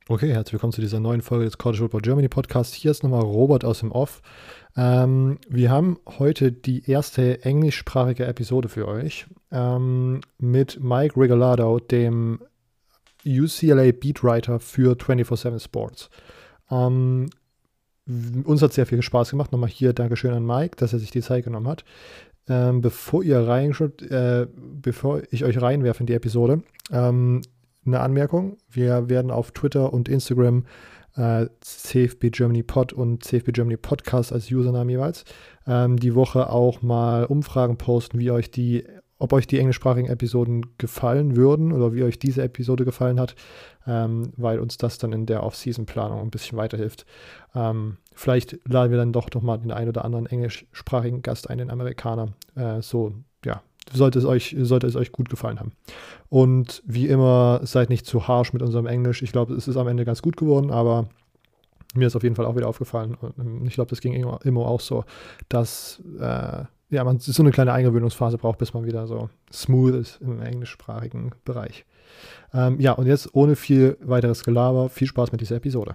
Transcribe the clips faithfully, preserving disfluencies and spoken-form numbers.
Okay, herzlich willkommen zu dieser neuen Folge des College Football Germany Podcast. Hier ist nochmal Robert aus dem Off. Ähm, wir haben heute die erste englischsprachige Episode für euch ähm, mit Mike Regalado, dem U C L A Beatwriter für vierundzwanzig sieben Sports. Ähm, uns hat sehr viel Spaß gemacht. Nochmal hier Dankeschön an Mike, dass er sich die Zeit genommen hat. Ähm, bevor ihr reinschaut, äh, bevor ich euch reinwerfe in die Episode, ähm, eine Anmerkung. Wir werden auf Twitter und Instagram äh, C F B Germany Pod und C F B Germany Podcast als Username jeweils ähm, die Woche auch mal Umfragen posten, wie euch die, ob euch die englischsprachigen Episoden gefallen würden oder wie euch diese Episode gefallen hat, ähm, weil uns das dann in der Off-Season-Planung ein bisschen weiterhilft. Ähm, vielleicht laden wir dann doch noch mal den einen oder anderen englischsprachigen Gast ein, den Amerikaner. Äh, so, ja, sollte es euch, sollte es euch gut gefallen haben. Und wie immer, seid nicht zu harsh mit unserem Englisch. Ich glaube, es ist am Ende ganz gut geworden, aber mir ist auf jeden Fall auch wieder aufgefallen. Und ich glaube, das ging immer, immer auch so, dass äh, ja, man so eine kleine Eingewöhnungsphase braucht, bis man wieder so smooth ist im englischsprachigen Bereich. Ähm, ja, und jetzt ohne viel weiteres Gelaber, viel Spaß mit dieser Episode.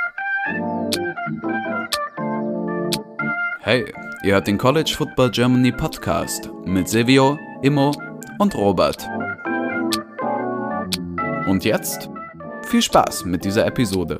Hey, ihr hört den College Football Germany Podcast mit Silvio, Immo und Robert. Und jetzt viel Spaß mit dieser Episode.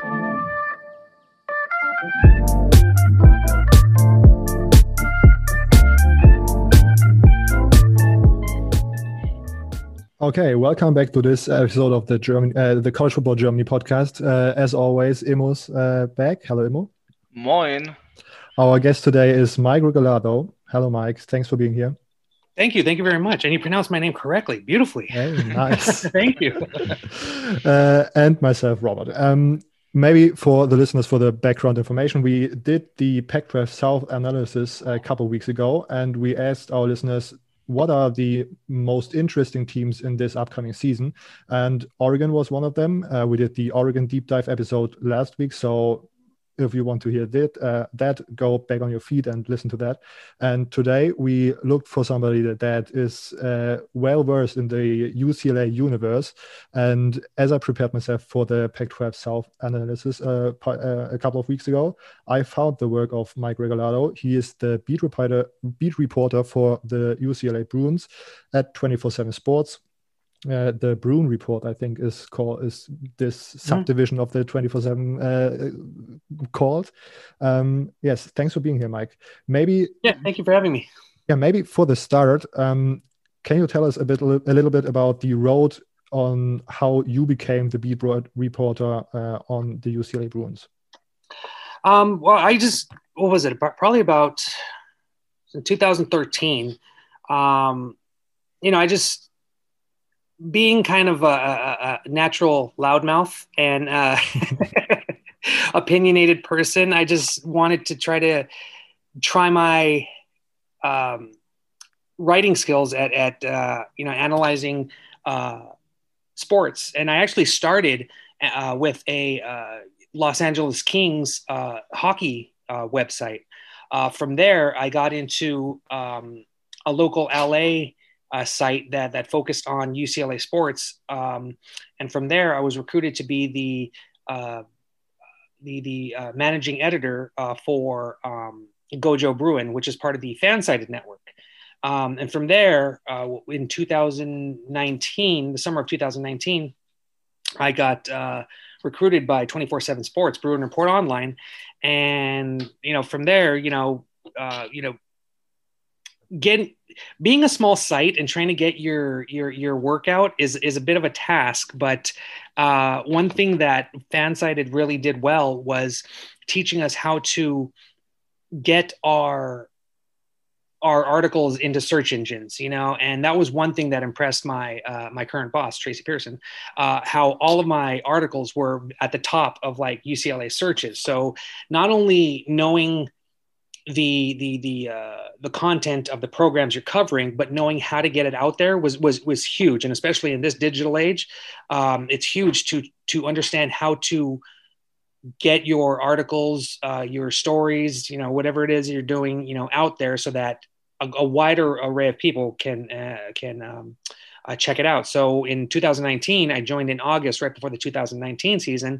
Okay, welcome back to this episode of the German, uh, the College Football Germany podcast. Uh, as always, Immo's uh, back. Hello, Immo. Moin. Our guest today is Mike Regalado. Hello, Mike. Thanks for being here. Thank you. Thank you very much. And you pronounced my name correctly, beautifully. Hey, nice. Thank you. uh, and myself, Robert. Um, maybe for the listeners, for the background information, we did the Pac twelve South analysis a couple of weeks ago, and we asked our listeners, what are the most interesting teams in this upcoming season? And Oregon was one of them. Uh, we did the Oregon deep dive episode last week. So if you want to hear that, uh, that, go back on your feed and listen to that. And today we looked for somebody that, that is uh, well-versed in the U C L A universe. And as I prepared myself for the Pac twelve South analysis uh, uh, a couple of weeks ago, I found the work of Mike Regalado. He is the beat reporter, beat reporter for the U C L A Bruins at twenty-four seven Sports. Uh, the Bruin Report, I think, is called is this subdivision mm. of the twenty-four seven uh, called. Um, yes, thanks for being here, Mike. Maybe yeah, thank you for having me. Yeah, maybe for the start, um, can you tell us a bit, a little bit about the road on how you became the beat reporter uh, on the U C L A Bruins? Um, well, I just what was it? Probably about in two thousand thirteen. Um, you know, I just. Being kind of a, a, a natural loudmouth and uh, opinionated person, I just wanted to try to try my um, writing skills at, at uh, you know, analyzing uh, sports. And I actually started uh, with a uh, Los Angeles Kings uh, hockey uh, website. Uh, from there, I got into um, a local L A A site that that focused on U C L A sports, um, and from there I was recruited to be the uh, the the uh, managing editor uh, for um, Gojo Bruin, which is part of the Fansided network. Um, and from there, uh, in two thousand nineteen, the summer of two thousand nineteen, I got uh, recruited by twenty-four seven Sports, Bruin Report Online, and you know from there, you know, uh, you know. Getting being a small site and trying to get your your your workout is is a bit of a task, but uh, one thing that Fansided really did well was teaching us how to get our our articles into search engines, you know, and that was one thing that impressed my uh, my current boss, Tracy Pearson, uh, how all of my articles were at the top of like U C L A searches. So not only knowing the the the uh, the content of the programs you're covering, but knowing how to get it out there was was was huge, and especially in this digital age, um, it's huge to to understand how to get your articles, uh, your stories, you know, whatever it is you're doing, you know, out there, so that a, a wider array of people can uh, can um, uh, check it out. So in two thousand nineteen, I joined in August, right before the two thousand nineteen season.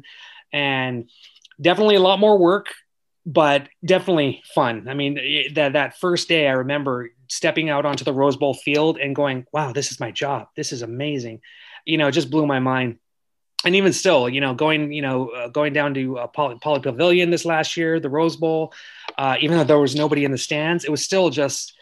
and definitely a lot more work, but definitely fun. I mean, that that first day, I remember stepping out onto the Rose Bowl field and going, "Wow, this is my job. This is amazing." You know, it just blew my mind. And even still, you know, going, you know, uh, going down to uh, Poly, Poly Pavilion this last year, the Rose Bowl, uh, even though there was nobody in the stands, it was still just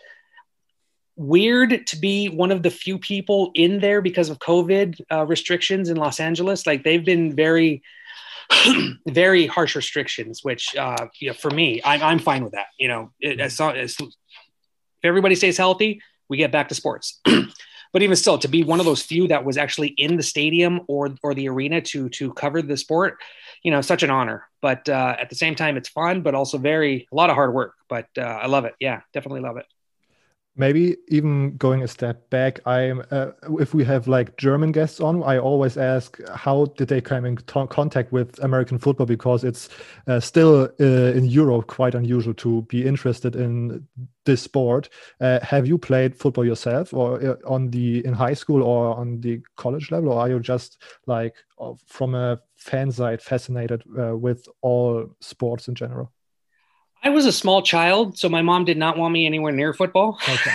weird to be one of the few people in there because of COVID uh, restrictions in Los Angeles. Like they've been very, very harsh restrictions, which, uh, you know, for me, I'm, I'm fine with that. You know, it, as, as, if everybody stays healthy, we get back to sports. But even still, to be one of those few that was actually in the stadium or or the arena to to cover the sport, you know, such an honor. But uh, at the same time, it's fun, but also very a lot of hard work. But uh, I love it. Yeah, definitely love it. Maybe even going a step back, I'm uh, if we have like German guests on, I always ask how did they come in t- contact with American football, because it's uh, still uh, in Europe quite unusual to be interested in this sport. Uh, have you played football yourself, or uh, on the in high school or on the college level, or are you just like uh, from a fan side fascinated uh, with all sports in general? I was a small child, so my mom did not want me anywhere near football. Okay.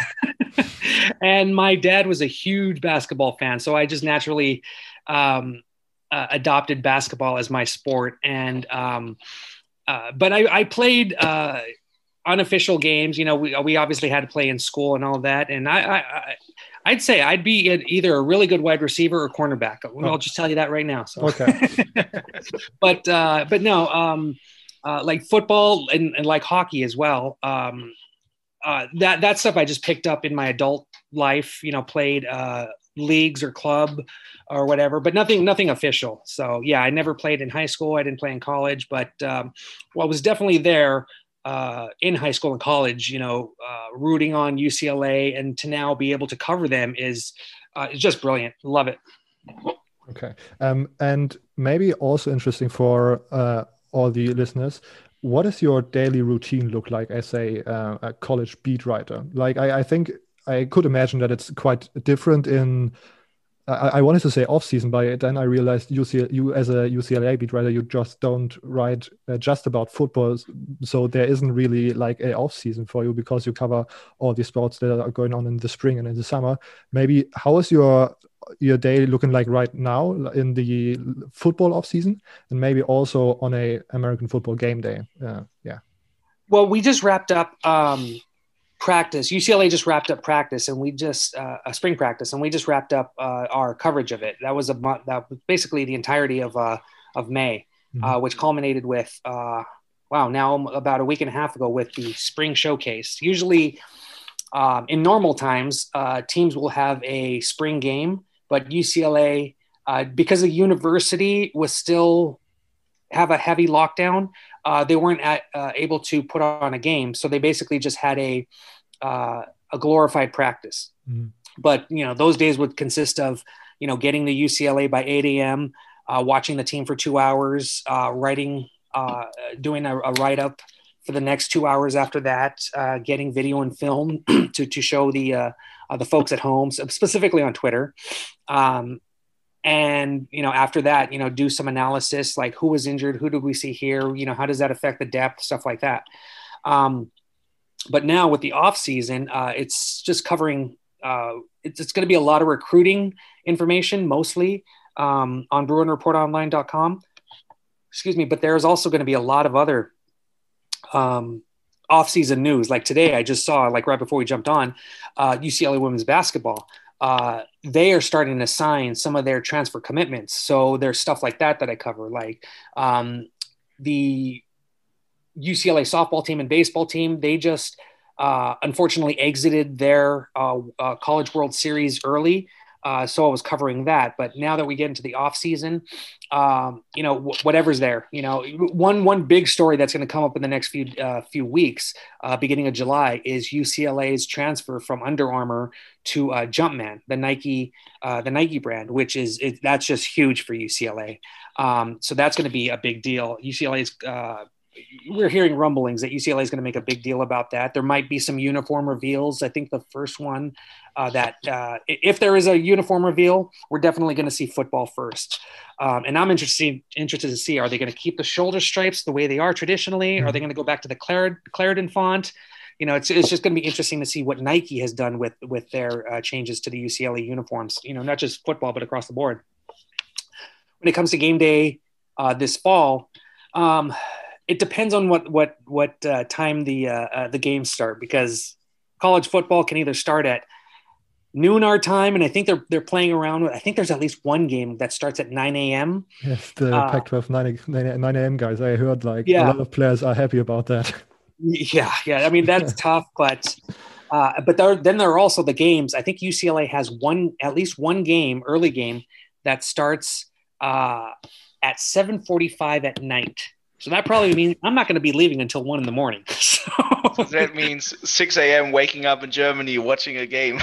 And my dad was a huge basketball fan, so I just naturally um, uh, adopted basketball as my sport. And um, uh, but I, I played uh, unofficial games. You know, we we obviously had to play in school and all that. And I, I, I I'd say I'd be either a really good wide receiver or cornerback. Oh. I'll just tell you that right now. So. Okay. but uh, but no. Um, Uh, like football and, and like hockey as well. Um, uh, that that stuff I just picked up in my adult life. You know, played uh, leagues or club or whatever, but nothing nothing official. So yeah, I never played in high school. I didn't play in college, but um, well, I was definitely there uh, in high school and college. You know, uh, rooting on U C L A, and to now be able to cover them is uh, is just brilliant. Love it. Okay, um, and maybe also interesting for. Uh, all the listeners, what does your daily routine look like as a, uh, a college beat writer? Like, I, I think I could imagine that it's quite different in, I, I wanted to say off season, but then I realized U C L, you as a U C L A beat writer, you just don't write uh, just about football. So there isn't really like a off season for you because you cover all the sports that are going on in the spring and in the summer. Maybe how is your your day looking like right now in the football off season, and maybe also on a American football game day? Uh, yeah. Well, we just wrapped up um, practice. U C L A just wrapped up practice, and we just uh, a spring practice, and we just wrapped up uh, our coverage of it. That was a month. That was basically the entirety of uh, of May, mm-hmm. uh, which culminated with uh, wow, now about a week and a half ago with the spring showcase. Usually, um, in normal times, uh, teams will have a spring game. But U C L A, uh, because the university was still have a heavy lockdown, uh, they weren't at, uh, able to put on a game. So they basically just had a uh, a glorified practice. Mm-hmm. But, you know, those days would consist of, you know, getting to U C L A by eight a.m., uh, watching the team for two hours, uh, writing, uh, doing a, a write-up for the next two hours after that, uh, getting video and film to, to show the uh, uh, the folks at home, specifically on Twitter. Um, and, you know, after that, you know, do some analysis, like who was injured, who did we see here, you know, how does that affect the depth, stuff like that. Um, but now with the off season, uh, it's just covering, uh, it's, it's going to be a lot of recruiting information, mostly um, on bruin report online dot com. Excuse me. But there's also going to be a lot of other um, off-season news. Like today, I just saw, like right before we jumped on, uh, U C L A women's basketball. Uh, they are starting to sign some of their transfer commitments. So there's stuff like that that I cover, like um, the U C L A softball team and baseball team. They just uh, unfortunately exited their uh, uh, College World Series early. Uh, so I was covering that. But now that we get into the off season, um, you know, w- whatever's there, you know, one, one big story that's going to come up in the next few, uh, few weeks, uh, beginning of July, is U C L A's transfer from Under Armour to uh, Jumpman, the Nike, uh, the Nike brand, which is, it, that's just huge for U C L A. Um, so that's going to be a big deal. U C L A's uh, we're hearing rumblings that U C L A is going to make a big deal about that. There might be some uniform reveals. I think the first one uh, that uh, if there is a uniform reveal, we're definitely going to see football first. Um, and I'm interested interested to see, are they going to keep the shoulder stripes the way they are traditionally? Are they going to go back to the Clarend- Clarendon font? You know, it's it's just going to be interesting to see what Nike has done with with their uh, changes to the U C L A uniforms. You know, not just football, but across the board. When it comes to game day uh, this fall, um, it depends on what what what uh, time the uh, uh, the games start, because college football can either start at noon our time, and I think they're they're playing around with, I think there's at least one game that starts at nine a.m. Yes, the uh, Pac twelve nine a.m. guys. I heard like yeah. a lot of players are happy about that. Yeah, yeah. I mean, that's tough, but uh, but there, then there are also the games. I think U C L A has one, at least one game, early game, that starts uh, at seven forty-five at night. So that probably means I'm not going to be leaving until one in the morning. So, so that means six a.m. waking up in Germany, watching a game.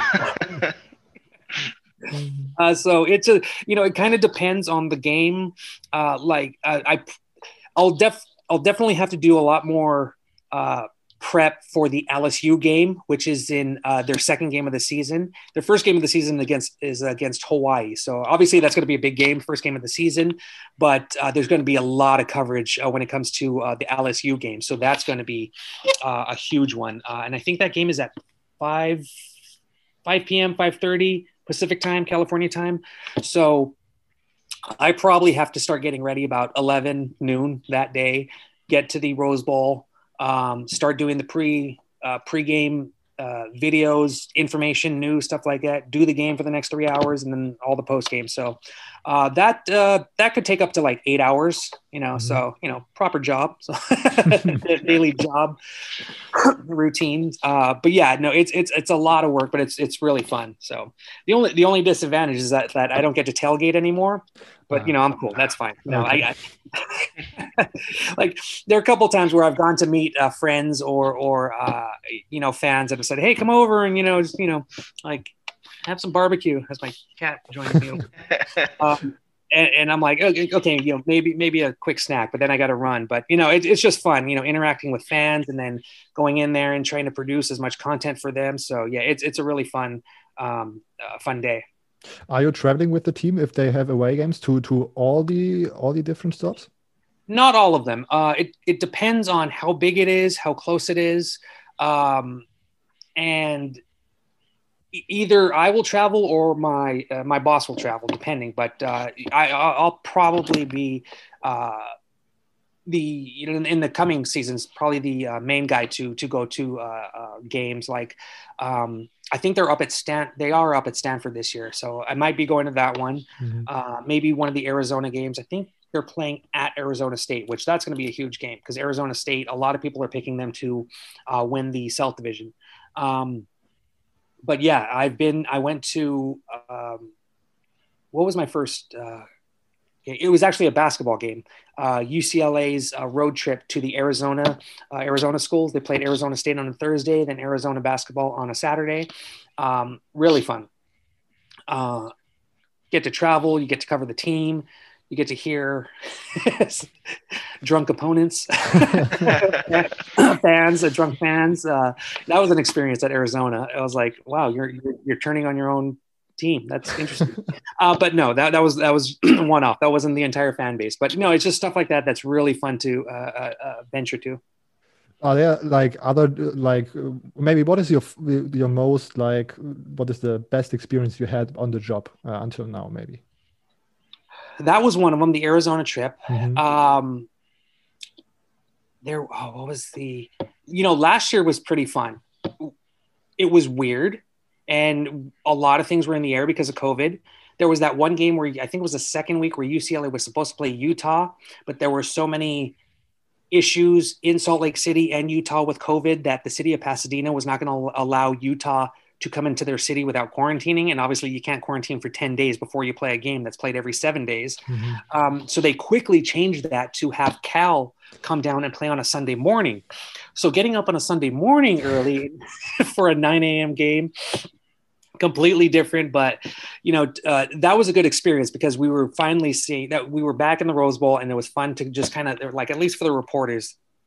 uh, so it's a, you know, it kind of depends on the game. Uh, like uh, I, I'll def, I'll definitely have to do a lot more uh, prep for the L S U game, which is in uh, their second game of the season. Their first game of the season against is against Hawaii. So obviously that's going to be a big game, first game of the season, but uh, there's going to be a lot of coverage uh, when it comes to uh, the L S U game. So that's going to be uh, a huge one. Uh, and I think that game is at five p.m., five thirty Pacific time, California time. So I probably have to start getting ready about eleven noon that day, get to the Rose Bowl, Um, start doing the pre uh, pre-game uh, videos, information, news, stuff like that. Do the game for the next three hours, and then all the post-game. So uh, that uh, that could take up to like eight hours. You know, mm-hmm. so you know, proper job, so daily job routine. Uh, but yeah, no, it's it's it's a lot of work, but it's it's really fun. So the only the only disadvantage is that that I don't get to tailgate anymore. But, you know, I'm cool. That's fine. No, okay. I, I like there are a couple of times where I've gone to meet uh, friends or, or uh, you know, fans that have said, hey, come over and, you know, just, you know, like have some barbecue as my cat joins me. um, and, and I'm like, okay, okay, you know, maybe maybe a quick snack, but then I got to run. But, you know, it, it's just fun, you know, interacting with fans and then going in there and trying to produce as much content for them. So, yeah, it's it's a really fun, um, uh, fun day. Are you traveling with the team if they have away games to to all the all the different stops? Not all of them. Uh, it it depends on how big it is, how close it is, um, and either I will travel or my uh, my boss will travel, depending. But uh, I I'll probably be uh, the you know, in, in the coming seasons probably the uh, main guy to to go to uh, uh, games like. Um, I think they're up at Stan. They are up at Stanford this year, so I might be going to that one. Mm-hmm. Uh, maybe one of the Arizona games. I think they're playing at Arizona State, which that's going to be a huge game because Arizona State. A lot of people are picking them to uh, win the South Division. Um, but yeah, I've been. I went to. Um, what was my first? Uh, it was actually a basketball game. Uh, U C L A's uh, road trip to the Arizona uh, Arizona schools. They played Arizona State on a Thursday, then Arizona basketball on a Saturday. Um, really fun. Uh, get to travel. You get to cover the team. You get to hear drunk opponents, fans, uh, drunk fans. Uh, that was an experience at Arizona. I was like, wow, you're you're, you're turning on your own team. That's interesting. uh, but no, that, that was, that was one off. That wasn't the entire fan base, but no, it's just stuff like that. That's really fun to uh, uh, venture to. Are there like other, like maybe what is your, your most like, what is the best experience you had on the job uh, until now, maybe? That was one of them, the Arizona trip. Mm-hmm. Um, there, oh, what was the, you know, last year was pretty fun. It was weird. And a lot of things were in the air because of COVID. There was that one game where I think it was the second week where U C L A was supposed to play Utah, but there were so many issues in Salt Lake City and Utah with COVID that the city of Pasadena was not going to allow Utah to come into their city without quarantining. And obviously you can't quarantine for ten days before you play a game that's played every seven days. Mm-hmm. Um, so they quickly changed that to have Cal come down and play on a Sunday morning. So getting up on a Sunday morning early for a nine a.m. game, completely different, but you know, uh, that was a good experience because we were finally seeing that we were back in the Rose Bowl and it was fun to just kind of like, at least for the reporters,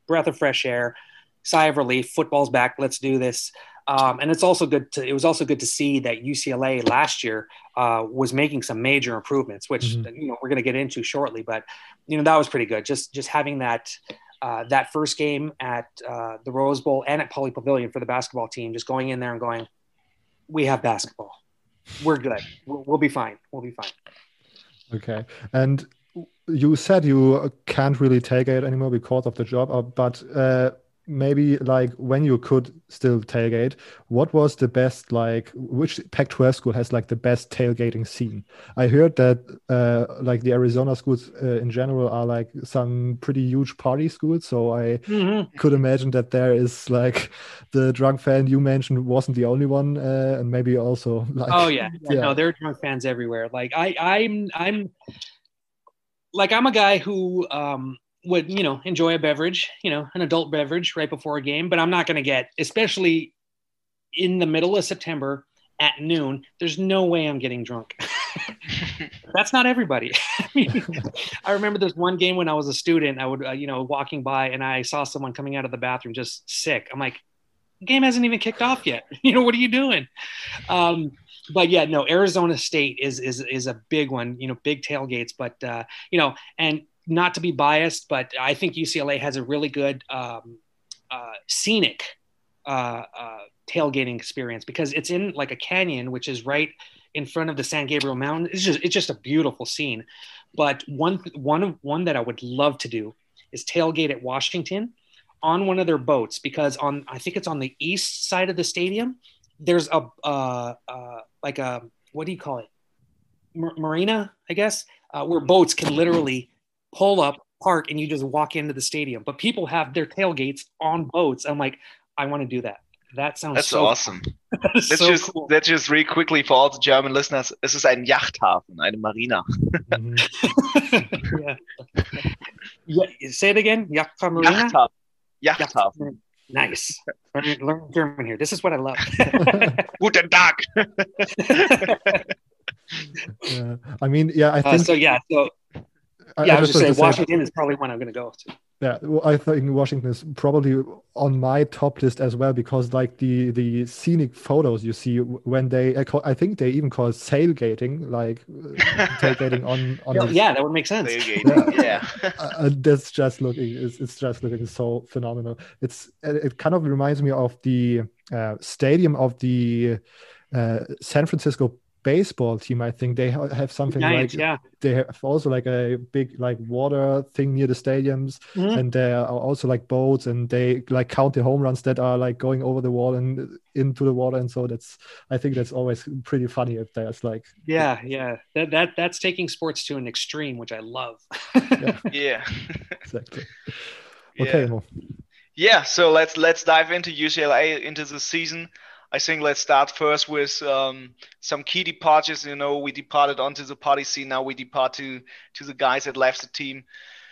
breath of fresh air, sigh of relief. Football's back. Let's do this. Um, and it's also good to, it was also good to see that U C L A last year uh, was making some major improvements, which, mm-hmm. you know, we're going to get into shortly, but, you know, that was pretty good. Just, just having that, uh, that first game at uh, the Rose Bowl and at Pauley Pavilion for the basketball team, just going in there and going, we have basketball. We're good. We'll, we'll be fine. We'll be fine. Okay. And you said you can't really tailgate anymore because of the job, but uh, maybe like when you could still tailgate, what was the best, like which Pac twelve school has like the best tailgating scene? I heard that uh, like the Arizona schools uh, in general are like some pretty huge party schools. So I mm-hmm. could imagine that there is like the drunk fan you mentioned wasn't the only one, uh, and maybe also like oh yeah. yeah, yeah. No, there are drunk fans everywhere. Like I, I'm, I'm like I'm a guy who. Um, would, you know, enjoy a beverage, you know, an adult beverage right before a game, but I'm not going to get, especially in the middle of September at noon, there's no way I'm getting drunk. That's not everybody. I mean, I remember this one game when I was a student, I would, uh, you know, walking by and I saw someone coming out of the bathroom just sick. I'm like, the game hasn't even kicked off yet. You know, what are you doing? Um, but yeah, no, Arizona State is, is, is a big one, you know, big tailgates, but, uh, you know, and, not to be biased, but I think U C L A has a really good um, uh, scenic uh, uh, tailgating experience because it's in like a canyon, which is right in front of the San Gabriel Mountain. It's just it's just a beautiful scene. But one one one that I would love to do is tailgate at Washington on one of their boats because on I think it's on the east side of the stadium. There's a uh, uh, like a what do you call it? Mar- marina, I guess, uh, where boats can literally pull up, park, and you just walk into the stadium. But people have their tailgates on boats. I'm like, I want to do that. That sounds That's so awesome. That let's so just cool. let's just read quickly for all the German listeners. Es ist ein Yachthafen, eine Marina. yeah. yeah. Say it again. Yachthafen Marina. Yachthafen. Yachthafen. Yachthafen. Nice. Learn, learn German here. This is what I love. Guten Tag. yeah. I mean, yeah, I think. Uh, so yeah. So. I, yeah, I, I was just saying, say, Washington is probably one I'm going to go to. Yeah, well, I think Washington is probably on my top list as well because, like, the the scenic photos you see when they, I, call, I think they even call it sailgating, like tailgating on on. Yeah, his, yeah, that would make sense. Tailgating, yeah. yeah. uh, that's just looking, it's, it's just looking so phenomenal. It's it kind of reminds me of the uh, stadium of the uh, San Francisco baseball team. I think they have something Giants, like yeah. they have also like a big like water thing near the stadiums, mm-hmm. and there are also like boats, and they like count the home runs that are like going over the wall and into the water, and so that's I think that's always pretty funny if there's like yeah yeah that that that's taking sports to an extreme, which I love. yeah, yeah. Exactly. Okay, yeah. Mo. yeah so let's let's dive into U C L A into the season. I think let's start first with um, some key departures. You know, we departed onto the party scene. Now we depart to to the guys that left the team.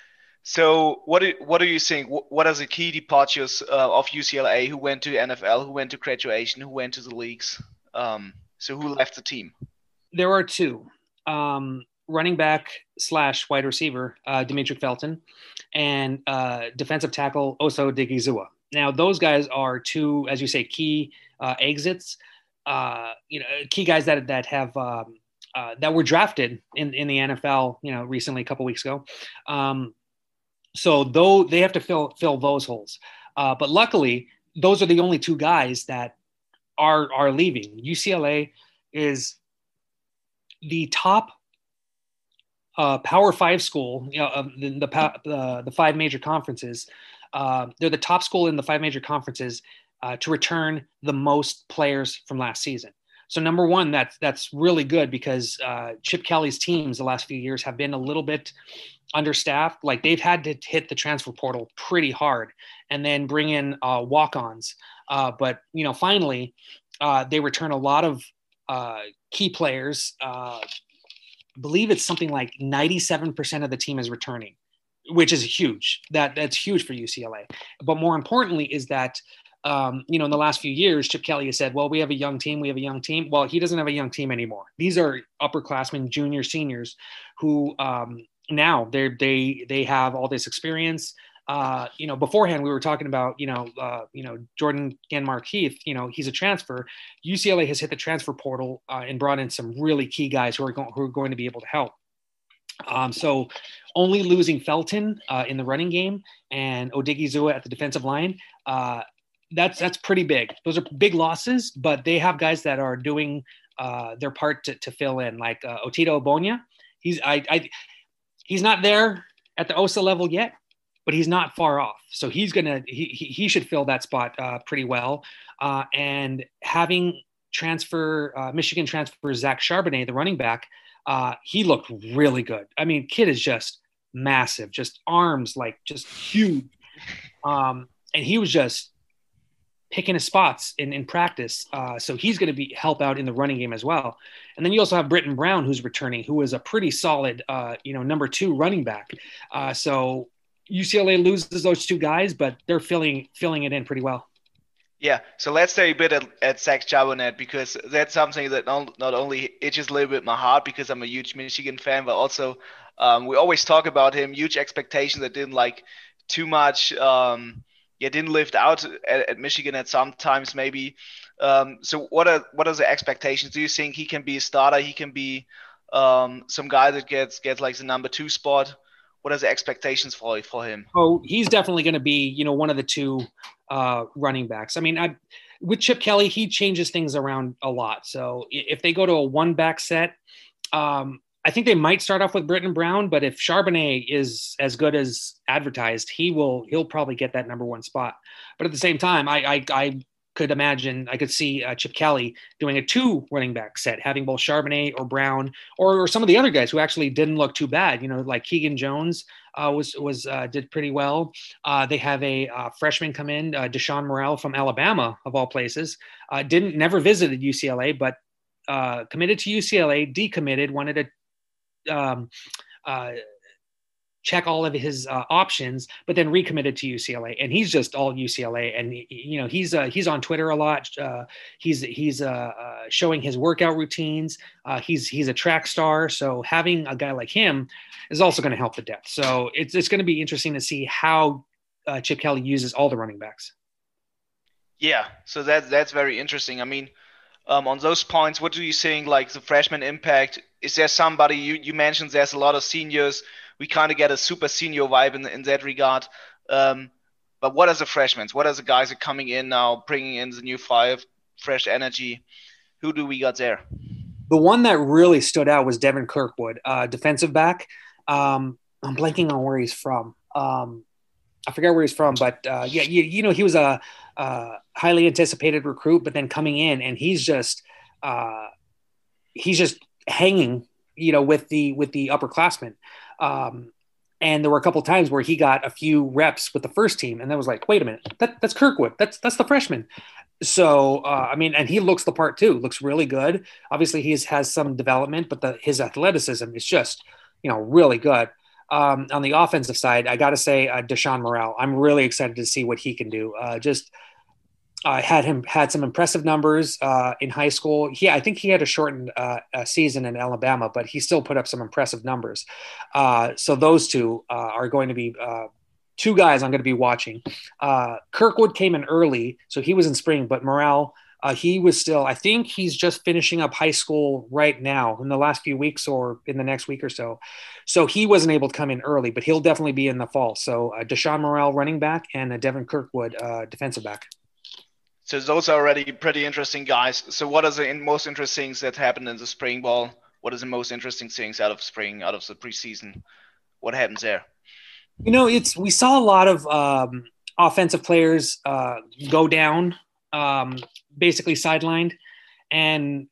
So what do what do you think? What are the key departures uh, of U C L A? Who went to N F L? Who went to graduation? Who went to the leagues? Um, so who left the team? There are two. Um, running back slash wide receiver, uh, Demetric Felton, and uh, defensive tackle Oso Digizua. Now, those guys are two, as you say, key uh, exits. Uh, you know, key guys that that have um, uh, that were drafted in, in the N F L. You know, recently, a couple weeks ago. Um, so, though they have to fill fill those holes, uh, but luckily, those are the only two guys that are are leaving. U C L A is the top uh, Power Five school. You know, of the the, the the five major conferences. Uh, they're the top school in the five major conferences uh, to return the most players from last season. So number one, that's that's really good because uh, Chip Kelly's teams the last few years have been a little bit understaffed. Like they've had to hit the transfer portal pretty hard and then bring in uh, walk-ons. Uh, but you know, finally, uh, they return a lot of uh, key players. Uh, I believe it's something like ninety-seven percent of the team is returning, which is huge. That that's huge for U C L A. But more importantly is that, um, you know, in the last few years, Chip Kelly has said, well, we have a young team. We have a young team. Well, he doesn't have a young team anymore. These are upperclassmen, junior, seniors who um, now they they they have all this experience. Uh, you know, beforehand we were talking about, you know, uh, you know, Jordan Ganmar-Keith, you know, he's a transfer. U C L A has hit the transfer portal uh, and brought in some really key guys who are going, who are going to be able to help. Um, so only losing Felton uh, in the running game and Odigizua at the defensive line, uh, that's, that's pretty big. Those are big losses, but they have guys that are doing uh, their part to, to fill in, like uh, Otito Obonya. He's, I, I, he's not there at the O S A level yet, but he's not far off. So he's going to, he, he should fill that spot uh, pretty well. Uh, and having transfer, uh, Michigan transfer Zach Charbonnet, the running back, uh, he looked really good. I mean, kid is just massive, just arms, like just huge. Um, and he was just picking his spots in, in practice. Uh, so he's going to be help out in the running game as well. And then you also have Britton Brown, who's returning, who is a pretty solid, uh, you know, number two running back. Uh, so U C L A loses those two guys, but they're filling filling it in pretty well. Yeah, so let's stay a bit at, at Zach Charbonnet, because that's something that not, not only itches a little bit my heart because I'm a huge Michigan fan, but also um, we always talk about him, huge expectations that didn't like too much, um, yeah, didn't live out at, at Michigan at some times maybe. Um, so what are what are the expectations? Do you think he can be a starter? He can be um, some guy that gets gets like the number two spot? What are the expectations for for him? Oh, he's definitely going to be, you know, one of the two uh, running backs. I mean, I, with Chip Kelly, he changes things around a lot. So if they go to a one back set, um, I think they might start off with Britton Brown. But if Charbonnet is as good as advertised, he will he'll probably get that number one spot. But at the same time, I I, I could imagine, I could see uh, Chip Kelly doing a two running back set, having both Charbonnet or Brown or, or some of the other guys who actually didn't look too bad. You know, like Keegan Jones uh, was, was uh, did pretty well. Uh, they have a uh, freshman come in, uh, Deshaun Morrell from Alabama, of all places, uh, didn't, never visited U C L A, but uh, committed to U C L A, decommitted, wanted to um, uh, check all of his uh, options, but then recommitted to U C L A, and he's just all U C L A. And you know, he's uh, he's on Twitter a lot. Uh, he's he's uh, uh, showing his workout routines. Uh, he's he's a track star, so having a guy like him is also going to help the depth. So it's it's going to be interesting to see how uh, Chip Kelly uses all the running backs. Yeah, so that that's very interesting. I mean, um, on those points, what do you think? Like the freshman impact? Is there somebody you you mentioned? There's a lot of seniors. We kind of get a super senior vibe in, in that regard. Um, but what are the freshmen? What are the guys that are coming in now, bringing in the new fire, fresh energy? Who do we got there? The one that really stood out was Devin Kirkwood, uh, defensive back. Um, I'm blanking on where he's from. Um, I forget where he's from, but uh, yeah, you, you know, he was a, a highly anticipated recruit, but then coming in and he's just uh, he's just hanging, you know, with the with the upperclassmen. Um, and there were a couple of times where he got a few reps with the first team, and then was like, wait a minute, that, that's Kirkwood. That's, that's the freshman. So, uh, I mean, and he looks the part too, looks really good. Obviously he's has some development, but the, his athleticism is just, you know, really good. Um, on the offensive side, I got to say, uh, Deshaun Morrell, I'm really excited to see what he can do. Uh, just, I uh, had him had some impressive numbers uh, in high school. He, I think he had a shortened uh, a season in Alabama, but he still put up some impressive numbers. Uh, so those two uh, are going to be uh, two guys I'm going to be watching. Uh, Kirkwood came in early, so he was in spring, but Morrell, uh, he was still, I think he's just finishing up high school right now in the last few weeks or in the next week or so. So he wasn't able to come in early, but he'll definitely be in the fall. So uh, Deshaun Morrell, running back, and uh, Devin Kirkwood, uh, defensive back. So those are already pretty interesting guys. So what are the most interesting things that happened in the spring ball? What is the most interesting things out of spring, out of the preseason? What happens there? You know, it's we saw a lot of um, offensive players uh, go down, um, basically sidelined, and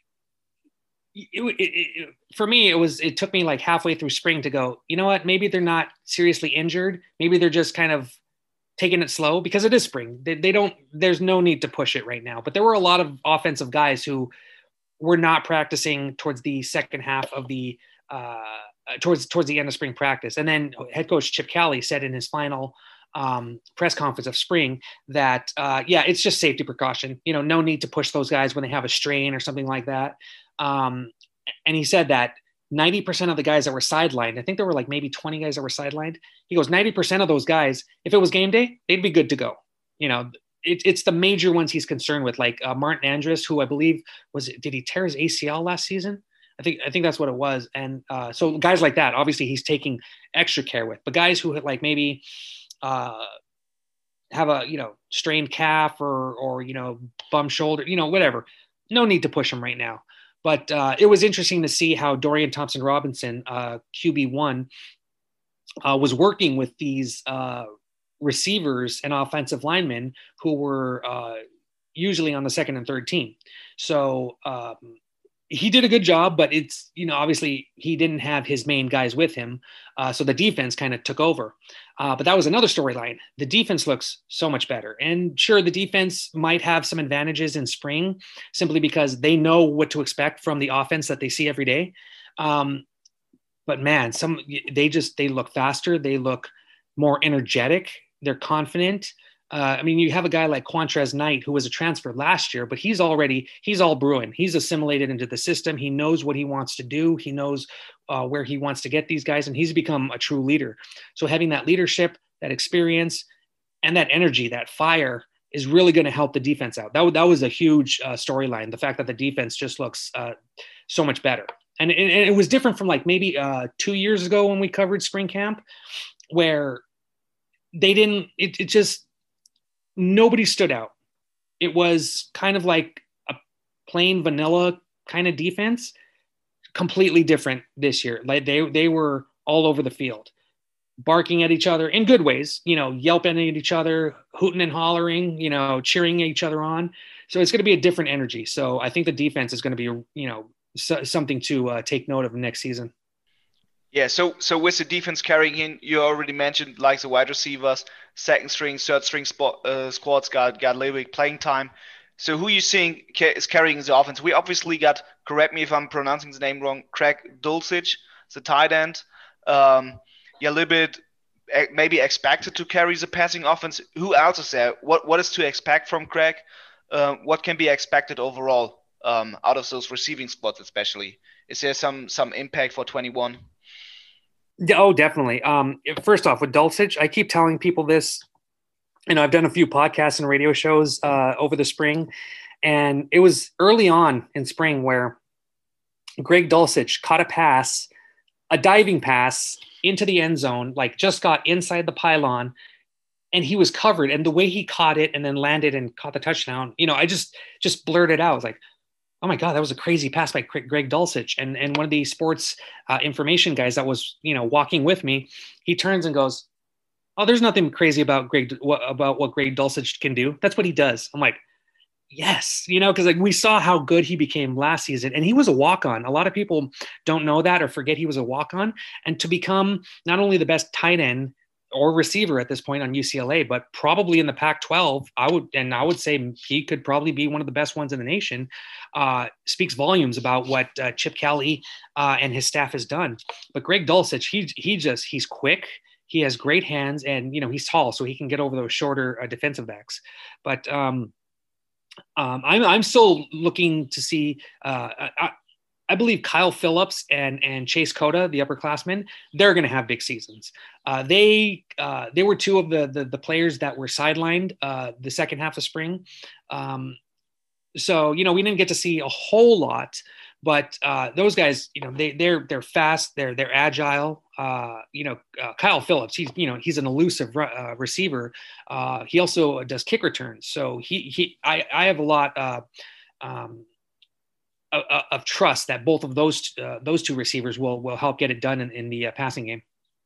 it, it, it, for me, it was it took me like halfway through spring to go, you know what? Maybe they're not seriously injured. Maybe they're just kind of taking it slow because it is spring. They, they don't, there's no need to push it right now, but there were a lot of offensive guys who were not practicing towards the second half of the, uh, towards, towards the end of spring practice. And then head coach Chip Kelly said in his final um, press conference of spring that, uh, yeah, it's just safety precaution, you know, no need to push those guys when they have a strain or something like that. Um, and he said that ninety percent of the guys that were sidelined, I think there were like maybe twenty guys that were sidelined. He goes, ninety percent of those guys, if it was game day, they'd be good to go. You know, it, it's the major ones he's concerned with, like uh, Martin Andrus, who I believe was, did he tear his A C L last season? I think I think that's what it was. And uh, so guys like that, obviously he's taking extra care with. But guys who like maybe uh, have a, you know, strained calf or, or, you know, bum shoulder, you know, whatever. No need to push them right now. But uh, it was interesting to see how Dorian Thompson-Robinson, uh, Q B one, uh, was working with these uh, receivers and offensive linemen who were uh, usually on the second and third team. So um, he did a good job, but it's, you know, obviously he didn't have his main guys with him. Uh, so the defense kind of took over. Uh, but that was another storyline. The defense looks so much better. And sure, the defense might have some advantages in spring simply because they know what to expect from the offense that they see every day. Um, but man, some, they just, they look faster. They look more energetic. They're confident. Uh, I mean, you have a guy like Quantrez Knight, who was a transfer last year, but he's already, he's all brewing. He's assimilated into the system. He knows what he wants to do. He knows uh, where he wants to get these guys, and he's become a true leader. So having that leadership, that experience, and that energy, that fire is really going to help the defense out. That, that was a huge uh, storyline. The fact that the defense just looks uh, so much better. And, and, and it was different from like maybe uh, two years ago when we covered spring camp, where they didn't, it, it just, nobody stood out. It was kind of like a plain vanilla kind of defense, completely different this year. Like they, they were all over the field, barking at each other in good ways, you know, yelping at each other, hooting and hollering, you know, cheering each other on. So it's going to be a different energy. So I think the defense is going to be, you know, so, something to uh, take note of next season. Yeah, so so with the defense carrying in, you already mentioned like the wide receivers, second string, third string spot, uh, squads got got a little bit playing time. So who you seeing ca- is carrying the offense? We obviously got, correct me if I'm pronouncing the name wrong, Craig Dulcich, the tight end. Um, yeah, a little bit eh, maybe expected to carry the passing offense. Who else is there? What what is to expect from Craig? Uh, what can be expected overall um, out of those receiving spots, especially? Is there some some impact for twenty-one? Oh, definitely. Um, first off, with Dulcich, I keep telling people this, and I've done a few podcasts and radio shows uh, over the spring, and it was early on in spring where Greg Dulcich caught a pass, a diving pass into the end zone, like just got inside the pylon, and he was covered. And the way he caught it and then landed and caught the touchdown, you know, I just just blurted out, I was like, oh my God, that was a crazy pass by Greg Dulcich. And and one of the sports uh, information guys that was, you know, walking with me, he turns and goes, oh, there's nothing crazy about Greg, what, about what Greg Dulcich can do. That's what he does. I'm like, yes, you know, because like we saw how good he became last season, and he was a walk-on. A lot of people don't know that or forget he was a walk-on. And to become not only the best tight end or receiver at this point on U C L A, but probably in the Pac twelve, I would, and I would say he could probably be one of the best ones in the nation, uh, speaks volumes about what uh, Chip Kelly uh, and his staff has done. But Greg Dulcich, he, he just, he's quick. He has great hands, and, you know, he's tall, so he can get over those shorter uh, defensive backs. But um, um, I'm, I'm still looking to see, uh, I, I believe Kyle Phillips and, and Chase Cota, the upperclassmen, they're going to have big seasons. Uh, they uh, they were two of the the, the players that were sidelined uh, the second half of spring. Um, so, you know, we didn't get to see a whole lot, but uh, those guys, you know, they they're they're fast, they're they're agile. Uh, you know, uh, Kyle Phillips, he's you know he's an elusive uh, receiver. Uh, he also does kick returns, so he he I I have a lot. Uh, um, Of, of trust that both of those uh, those two receivers will will help get it done in, in the uh, passing game.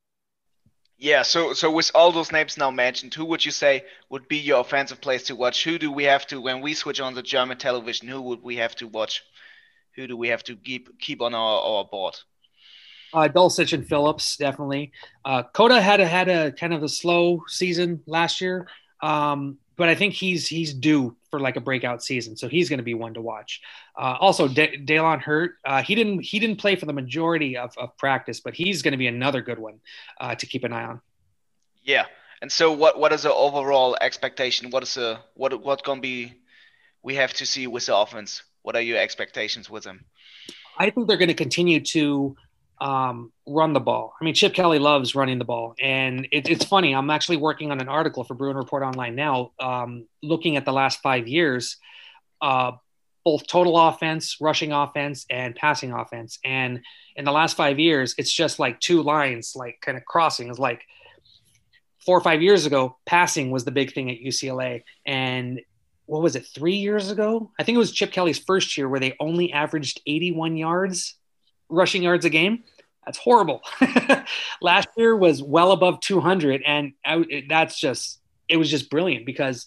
Yeah, so so with all those names now mentioned, who would you say would be your offensive players to watch? Who do we have to, when we switch on the German television, who would we have to watch? Who do we have to keep keep on our, our board? Uh, Dulcich and Phillips, definitely. Uh, Cota had a, had a kind of a slow season last year, um, but I think he's he's due for like a breakout season, so he's going to be one to watch. Uh, also, De- Dalen Hurt, uh, he didn't he didn't play for the majority of, of practice, but he's going to be another good one uh, to keep an eye on. Yeah, and so what what is the overall expectation? What is the what what going to be we have to see with the offense? What are your expectations with them? I think they're going to continue to um, run the ball. I mean, Chip Kelly loves running the ball. And it, it's funny. I'm actually working on an article for Bruin Report Online now, um, looking at the last five years, uh, both total offense, rushing offense, and passing offense. And in the last five years, it's just like two lines, like kind of crossing. It's like four or five years ago, passing was the big thing at U C L A. And what was it, three years ago? I think it was Chip Kelly's first year where they only averaged eighty-one yards, rushing yards a game. That's horrible. Last year was well above two hundred. And I, that's just, it was just brilliant because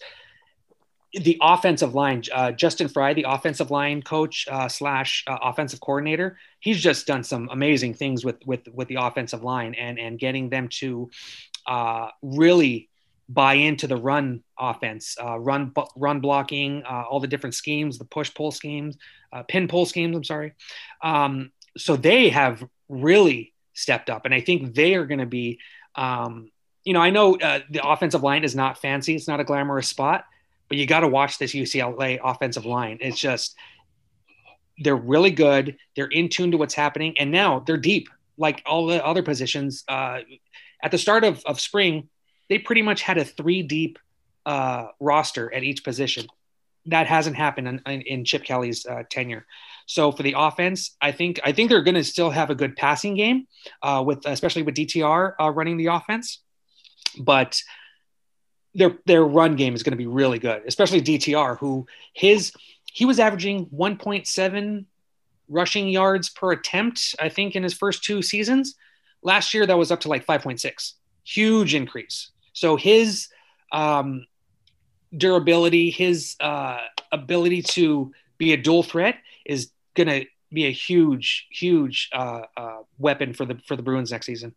the offensive line, uh, Justin Fry, the offensive line coach uh, slash uh, offensive coordinator, he's just done some amazing things with, with, with the offensive line and, and getting them to uh, really buy into the run offense, uh, run, run blocking, uh, all the different schemes, the push pull schemes, uh, pin pull schemes. I'm sorry. Um, so they have really stepped up, and I think they are going to be, um, you know, I know uh, the offensive line is not fancy. It's not a glamorous spot, but you got to watch this U C L A offensive line. It's just, they're really good. They're in tune to what's happening. And now they're deep, like all the other positions. Uh, at the start of, of spring, they pretty much had a three deep uh, roster at each position. That hasn't happened in, in, in Chip Kelly's uh, tenure. So for the offense, I think, I think they're going to still have a good passing game uh, with, especially with D T R uh, running the offense, but their, their run game is going to be really good, especially D T R, who his, he was averaging one point seven rushing yards per attempt, I think, in his first two seasons. Last year, that was up to like five point six. Huge increase. So his um, durability, his uh, ability to be a dual threat is going to be a huge, huge uh, uh, weapon for the for the Bruins next season.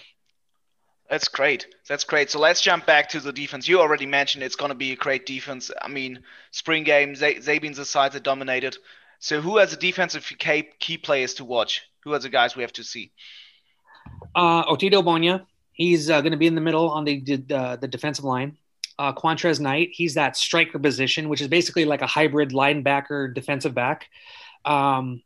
That's great. That's great. So let's jump back to the defense. You already mentioned it's going to be a great defense. I mean, spring game, Zabin's the side that dominated. So who are the defensive key, key players to watch? Who are the guys we have to see? Uh, Otito Bonya. He's uh, going to be in the middle on the uh, the defensive line. Uh, Quantrez Knight. He's that striker position, which is basically like a hybrid linebacker defensive back. Um,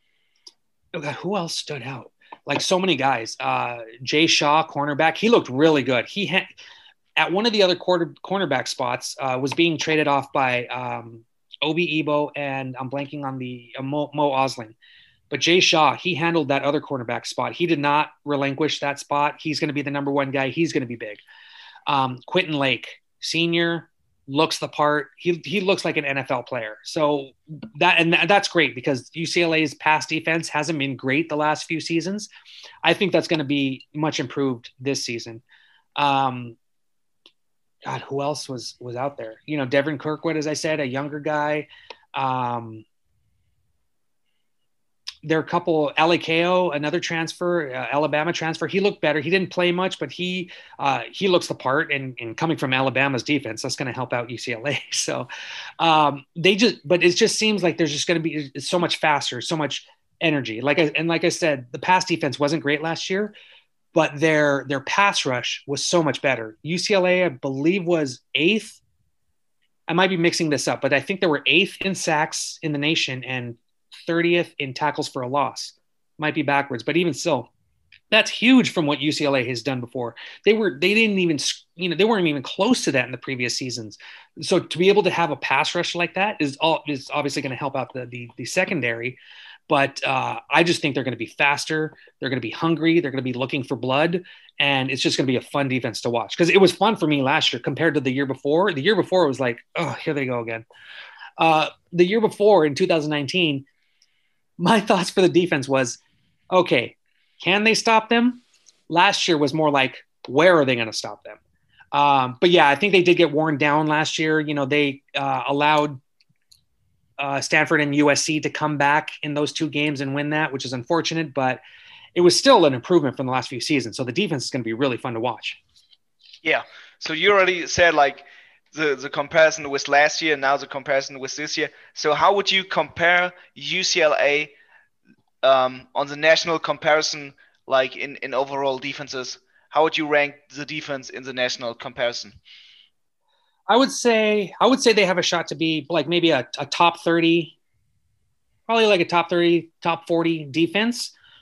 oh God, who else stood out? Like so many guys. Uh, Jay Shaw, cornerback. He looked really good. He had at one of the other quarter cornerback spots uh, was being traded off by um, Obi Ebo and I'm blanking on the uh, Mo, Mo Osling. But Jay Shaw, he handled that other cornerback spot. He did not relinquish that spot. He's going to be the number one guy. He's going to be big. Um, Quentin Lake, senior, looks the part. He he looks like an N F L player. So that and that's great because U C L A's pass defense hasn't been great the last few seasons. I think that's going to be much improved this season. Um, God, who else was was out there? You know, Devin Kirkwood, as I said, a younger guy. Um, There are a couple, L A K O, another transfer, uh, Alabama transfer. He looked better. He didn't play much, but he uh, he looks the part. And, and coming from Alabama's defense, that's going to help out U C L A. So um, they just, but it just seems like there's just going to be it's so much faster, so much energy. Like I, and like I said, the pass defense wasn't great last year, but their their pass rush was so much better. U C L A, I believe, was eighth. I might be mixing this up, but I think they were eighth in sacks in the nation and thirtieth in tackles for a loss. Might be backwards, but even still, that's huge from what U C L A has done before. They were, they didn't even, you know, they weren't even close to that in the previous seasons. So to be able to have a pass rush like that is all is obviously going to help out the, the, the secondary. But uh, I just think they're going to be faster. They're going to be hungry. They're going to be looking for blood. And it's just going to be a fun defense to watch because it was fun for me last year compared to the year before. The year before it was like, oh, here they go again. Uh, the year before in two thousand nineteen, my thoughts for the defense was, okay, can they stop them? Last year was more like, where are they going to stop them? Um, but yeah, I think they did get worn down last year. You know, they uh, allowed uh, Stanford and U S C to come back in those two games and win that, which is unfortunate, but it was still an improvement from the last few seasons. So the defense is going to be really fun to watch. Yeah. So you already said like the, the comparison with last year and now the comparison with this year. So how would you compare U C L A um, on the national comparison, like in, in overall defenses? How would you rank the defense in the national comparison? I would say I would say they have a shot to be like maybe a, a top thirty, probably like a top thirty, top forty defense.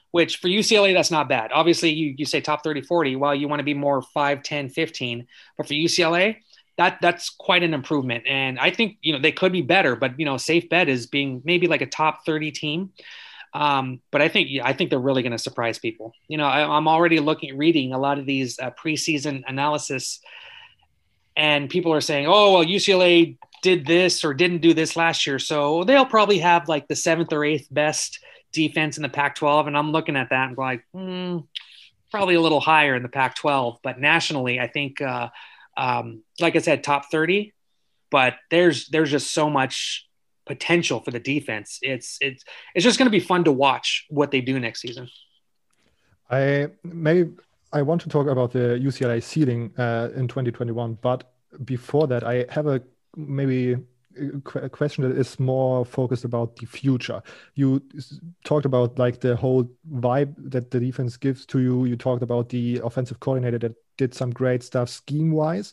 which for U C L A, that's not bad. Obviously, you, you say top thirty, forty, well, you want to be more five, ten, fifteen. But for U C L A, that that's quite an improvement. And I think, you know, they could be better, but, you know, safe bet is being maybe like a top thirty team. Um, but I think, yeah, I think they're really going to surprise people. You know, I, I'm already looking, reading a lot of these uh, preseason analysis, and people are saying, oh, well, U C L A did this or didn't do this last year, so they'll probably have like the seventh or eighth best defense in the Pac twelve. And I'm looking at that and like, hmm, probably a little higher in the Pac twelve. But nationally, I think, uh, um, like I said, top thirty. But there's there's just so much potential for the defense. It's it's it's just going to be fun to watch what they do next season. I maybe I want to talk about the U C L A ceiling uh, in twenty twenty-one, but before that, I have a maybe a question that is more focused about the future. You talked about like the whole vibe that the defense gives to you. You talked about the offensive coordinator that did some great stuff scheme-wise.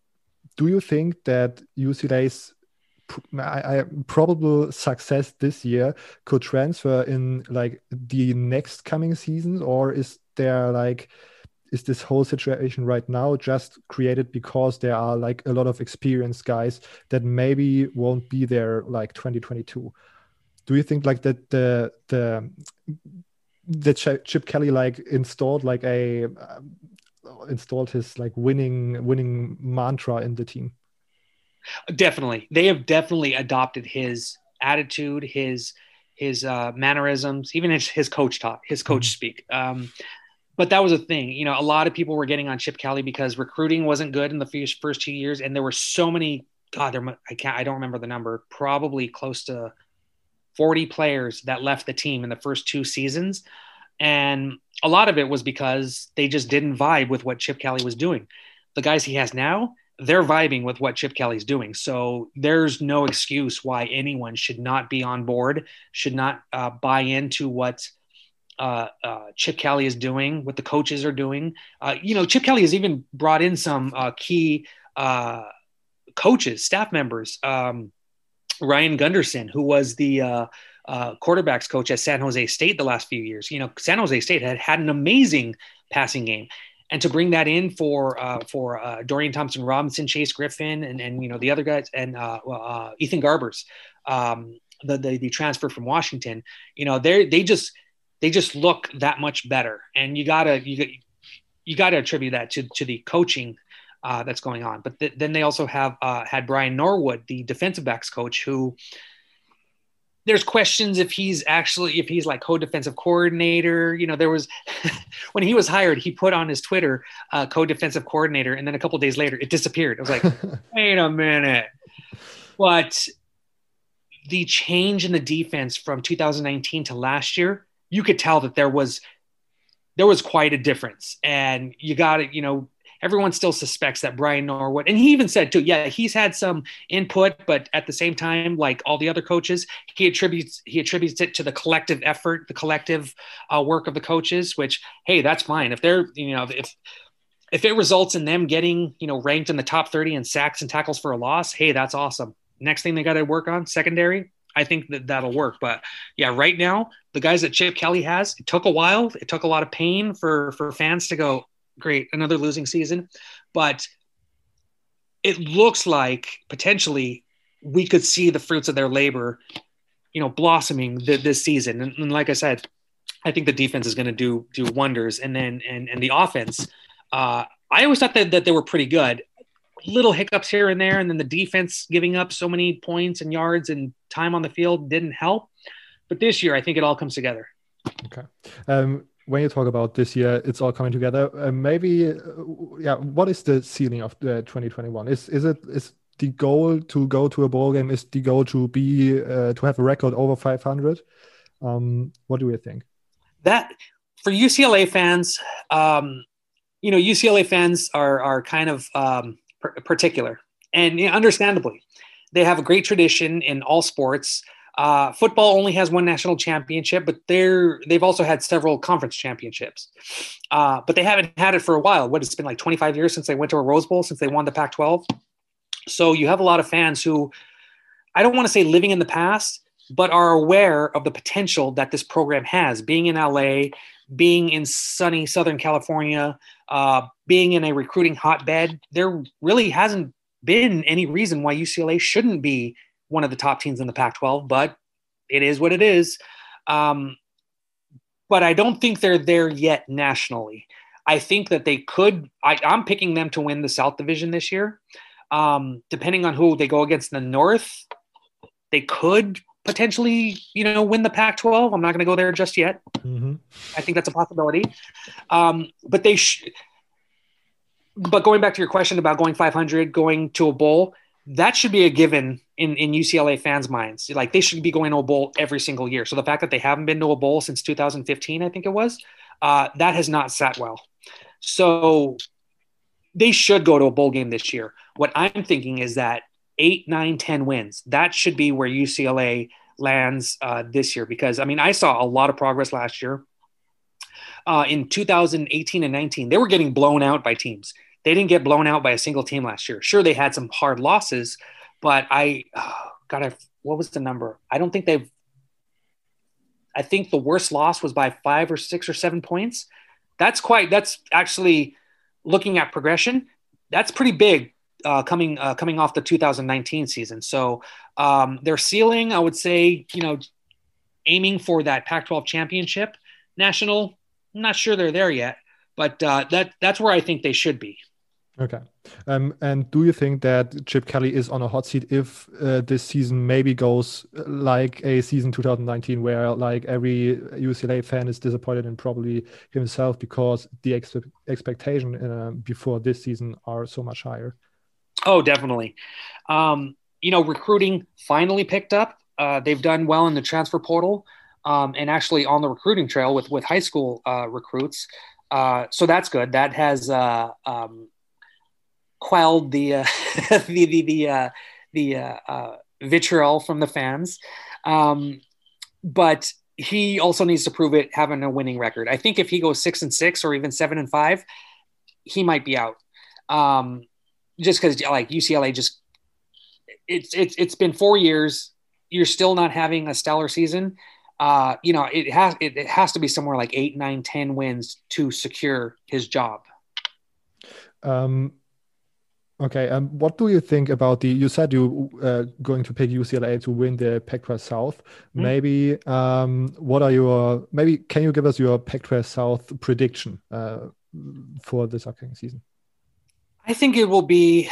Do you think that U C L A's I, I, probable success this year could transfer in like the next coming seasons, or is there like is this whole situation right now just created because there are like a lot of experienced guys that maybe won't be there like twenty twenty-two? Do you think like that the the the Chip Kelly like installed like a uh, installed his like winning winning mantra in the team? Definitely. They have definitely adopted his attitude, his his uh, mannerisms, even his, his coach talk, his coach mm-hmm. speak. Um, but that was a thing. You know, a lot of people were getting on Chip Kelly because recruiting wasn't good in the first, first two years. And there were so many, God, there, I can't, I don't remember the number, probably close to forty players that left the team in the first two seasons. And a lot of it was because they just didn't vibe with what Chip Kelly was doing. The guys he has now, they're vibing with what Chip Kelly's doing. So there's no excuse why anyone should not be on board, should not uh, buy into what uh, uh, Chip Kelly is doing, what the coaches are doing. Uh, you know, Chip Kelly has even brought in some uh, key uh, coaches, staff members. Um, Ryan Gunderson, who was the uh, uh, quarterbacks coach at San Jose State the last few years. You know, San Jose State had had an amazing passing game. And to bring that in for uh, for uh, Dorian Thompson Robinson, Chase Griffin, and and you know the other guys, and uh, uh, Ethan Garbers, um, the, the the transfer from Washington, you know they they just they just look that much better, and you gotta you you gotta attribute that to to the coaching uh, that's going on. But th- then they also have uh, had Brian Norwood, the defensive backs coach, who. There's questions if he's actually, if he's like co-defensive coordinator. You know, there was, when he was hired, he put on his Twitter, uh, co-defensive coordinator. And then a couple of days later, it disappeared. I was like, wait a minute. But the change in the defense from two thousand nineteen to last year, you could tell that there was, there was quite a difference. And you got it, you know, everyone still suspects that Brian Norwood, and he even said too, yeah, he's had some input, but at the same time, like all the other coaches, he attributes he attributes it to the collective effort, the collective uh, work of the coaches. Which, hey, that's fine if they're, you know, if if it results in them getting, you know, ranked in the top thirty in sacks and tackles for a loss, hey, that's awesome. Next thing they got to work on secondary. I think that that'll work. But yeah, right now, the guys that Chip Kelly has, it took a while. It took a lot of pain for for fans to go, great, another losing season. But it looks like potentially we could see the fruits of their labor, you know, blossoming th- this season. And, and like I said, I think the defense is going to do do wonders. And then and and the offense, uh, I always thought that, that they were pretty good. Little hiccups here and there, and then the defense giving up so many points and yards and time on the field didn't help. But this year, I think it all comes together. Okay. Um, when you talk about this year, it's all coming together. Uh, maybe, uh, yeah. What is the ceiling of the twenty twenty-one? Is is it is the goal to go to a bowl game? Is the goal to be uh, to have a record over five hundred? Um, what do you think? That for U C L A fans, um, you know, U C L A fans are are kind of um, particular, and you know, understandably, they have a great tradition in all sports. Uh, football only has one national championship, but they're they've also had several conference championships. Uh, but they haven't had it for a while. What, it's been like twenty-five years since they went to a Rose Bowl, since they won the Pac twelve. So you have a lot of fans who, I don't want to say living in the past, but are aware of the potential that this program has, being in L A, being in sunny Southern California, uh, being in a recruiting hotbed. There really hasn't been any reason why U C L A shouldn't be one of the top teams in the Pac twelve, but it is what it is. Um, but I don't think they're there yet nationally. I think that they could, I, I'm picking them to win the South Division this year. Um, depending on who they go against in the North, they could potentially, you know, win the Pac twelve. I'm not going to go there just yet. Mm-hmm. I think that's a possibility. Um, but they, sh- but going back to your question about going five hundred, going to a bowl, that should be a given in, in U C L A fans' minds. Like they should be going to a bowl every single year. So the fact that they haven't been to a bowl since two thousand fifteen, I think it was, uh, that has not sat well. So they should go to a bowl game this year. What I'm thinking is that eight, nine, ten wins, that should be where U C L A lands uh, this year. Because, I mean, I saw a lot of progress last year. Uh, in two thousand eighteen and nineteen, they were getting blown out by teams. They didn't get blown out by a single team last year. Sure, they had some hard losses, but I, oh, God, I, what was the number? I don't think they've, I think the worst loss was by five or six or seven points. That's quite, that's actually looking at progression. That's pretty big uh, coming, uh, coming off the two thousand nineteen season. So um, their ceiling, I would say, you know, aiming for that Pac twelve championship national. I'm not sure they're there yet, but uh, that that's where I think they should be. Okay. Um, and do you think that Chip Kelly is on a hot seat if uh, this season maybe goes like a season two thousand nineteen where like every U C L A fan is disappointed and probably himself because the ex- expectation uh, before this season are so much higher? Oh, definitely. Um, you know, recruiting finally picked up. Uh, they've done well in the transfer portal um, and actually on the recruiting trail with, with high school uh, recruits. Uh, so that's good. That has uh, um, quelled the uh, the the the, uh, the uh, uh, vitriol from the fans, um, but he also needs to prove it having a winning record. I think if he goes six and six or even seven and five, he might be out. Um, just because like U C L A just it's it's it's been four years. You're still not having a stellar season. Uh, you know, it has it, it has to be somewhere like eight, nine, ten wins to secure his job. Um. Okay, um, what do you think about the, you said you uh, going to pick U C L A to win the Pac twelve South. Mm-hmm. Maybe, um, what are your, maybe can you give us your Pac twelve South prediction uh, for this upcoming season? I think it will be,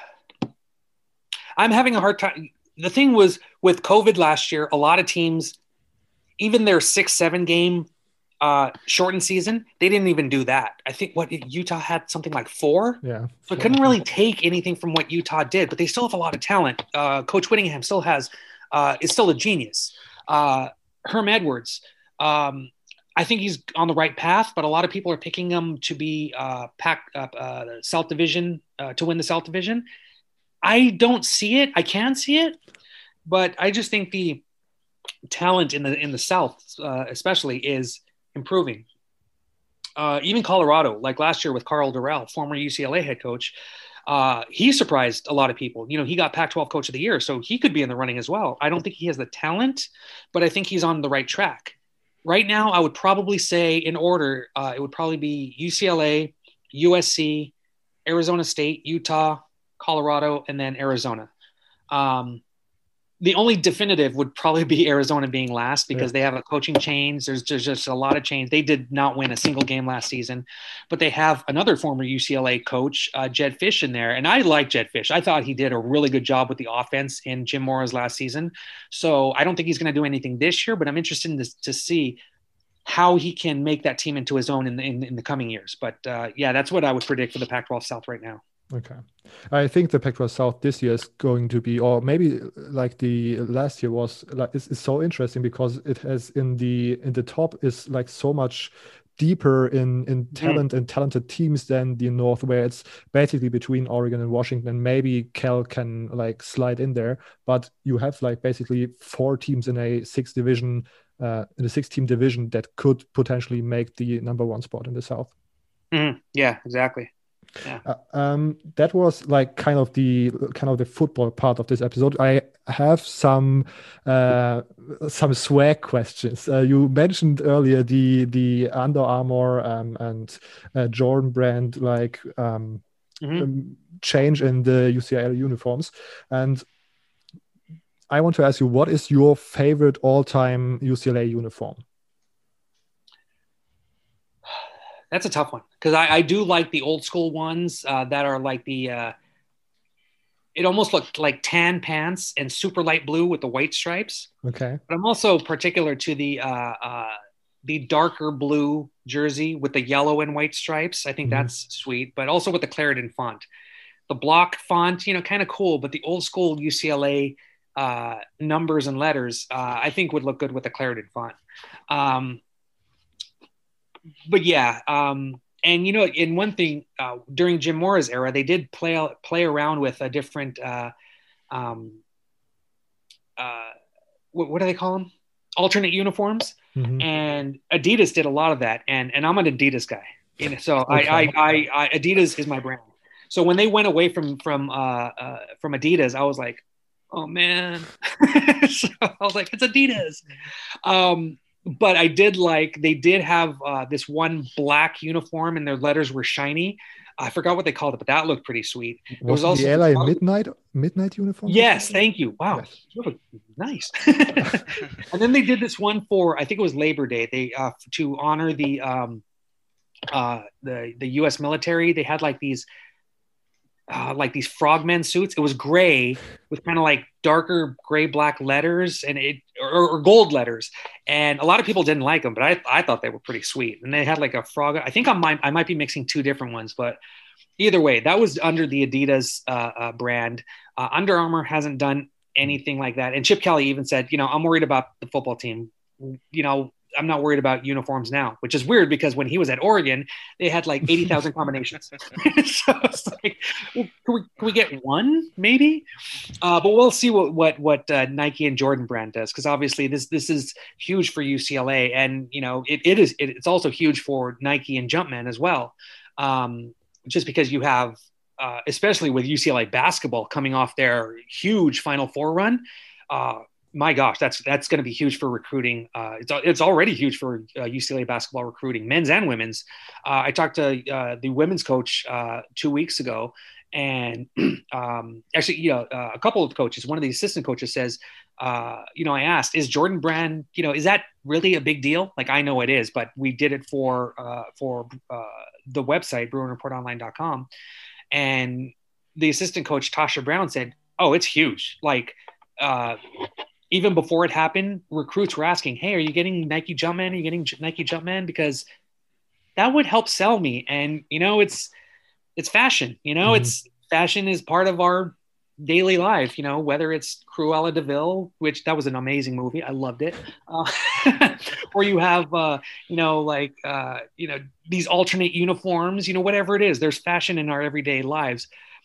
I'm having a hard time. The thing was with COVID last year, a lot of teams, even their six, seven game Uh, shortened season, they didn't even do that. I think what Utah had something like four. Yeah. So it couldn't really take anything from what Utah did, but they still have a lot of talent. Uh, Coach Whittingham still has, uh, is still a genius. Uh, Herm Edwards, um, I think he's on the right path, but a lot of people are picking him to be uh, pack up uh, the South Division uh, to win the South Division. I don't see it. I can see it, but I just think the talent in the in the South, uh, especially, is improving. Uh, even Colorado, like last year with Carl Durrell, former U C L A head coach, uh, he surprised a lot of people. You know, he got Pac twelve Coach of the Year, so he could be in the running as well. I don't think he has the talent, but I think he's on the right track. Right now, I would probably say in order, uh, it would probably be U C L A, U S C, Arizona State, Utah, Colorado, and then Arizona. Um, The only definitive would probably be Arizona being last because yeah. they have a coaching change. There's just, just a lot of change. They did not win a single game last season, but they have another former U C L A coach, uh, Jedd Fisch, in there. And I like Jedd Fisch. I thought he did a really good job with the offense in Jim Mora's last season. So I don't think he's going to do anything this year, but I'm interested in this, to see how he can make that team into his own in the, in, in the coming years. But uh, yeah, that's what I would predict for the Pac twelve South right now. Okay. I think the Pac twelve South this year is going to be, or maybe like the last year was, like, it's, it's so interesting because it has in the in the top is like so much deeper in in talent mm. and talented teams than the North, where it's basically between Oregon and Washington. Maybe Cal can like slide in there, but you have like basically four teams in a six division, uh, in a six team division that could potentially make the number one spot in the South. Mm. Yeah, exactly. Yeah. Uh, um, that was like kind of the kind of the football part of this episode. I have some uh, some swag questions. Uh, you mentioned earlier the the Under Armour um, and uh, Jordan brand like um, Mhm. um, change in the U C L A uniforms, and I want to ask you, what is your favorite all-time U C L A uniform? That's a tough one because I, I do like the old school ones uh, that are like the. Uh, it almost looked like tan pants and super light blue with the white stripes. Okay. But I'm also particular to the uh, uh, the darker blue jersey with the yellow and white stripes. I think Mhm. that's sweet, but also with the Clarendon font. The block font, you know, kind of cool, but the old school U C L A uh, numbers and letters, uh, I think would look good with the Clarendon font. Um, but yeah, um, and you know, in one thing uh, during Jim Mora's era, they did play play around with a different. Uh, um, uh, what, what do they call them? Alternate uniforms. Mhm. And Adidas did a lot of that. And and I'm an Adidas guy. You know, so Okay. I, I, I, I Adidas is my brand. So when they went away from from uh, uh, from Adidas, I was like, oh man. So I was like, it's Adidas. Um, but I did like they did have uh, this one black uniform, and their letters were shiny. I forgot what they called it, but that looked pretty sweet. It Was was it also the L A midnight midnight uniform? Yes, thank you. Wow, Yes. you look nice. And then they did this one for I think it was Labor Day. They uh, to honor the um, uh, the the U S military. They had like these uh, like these frogmen suits. It was gray with kind of like darker gray black letters and it or, or gold letters. And a lot of people didn't like them, but I I thought they were pretty sweet. And they had like a frog. I think I might I might be mixing two different ones, but either way, that was under the Adidas uh, uh, brand. Uh, Under Armour hasn't done anything like that. And Chip Kelly even said, you know, I'm worried about the football team. You know, I'm not worried about uniforms now, which is weird because when he was at Oregon, they had like eighty thousand combinations. So it's like, well, can we, can we get one maybe? Uh, but we'll see what what what uh, Nike and Jordan brand does, because obviously this this is huge for U C L A, and you know it, it is it, it's also huge for Nike and Jumpman as well. Um, just because you have, uh, especially with U C L A basketball coming off their huge Final Four run, uh, my gosh, that's that's going to be huge for recruiting. Uh, it's it's already huge for uh, U C L A basketball recruiting, men's and women's. Uh, I talked to uh, the women's coach uh, two weeks ago, and um, actually, you know, uh, a couple of coaches. One of the assistant coaches says, uh, you know, I asked, is Jordan Brand, you know, is that really a big deal? Like, I know it is, but we did it for uh, for uh, the website bruin report online dot com, and the assistant coach Tasha Brown said, oh, it's huge. Like. Uh, Even before it happened, recruits were asking, hey, are you getting Nike Jumpman? Are you getting Nike Jumpman? Because that would help sell me. And, you know, it's, it's fashion, you know, mm-hmm. It's fashion is part of our daily life, you know, whether it's Cruella de Vil, which that was an amazing movie. I loved it. Uh, or you have, uh, you know, like, uh, you know, these alternate uniforms, you know, whatever it is, there's fashion in our everyday lives.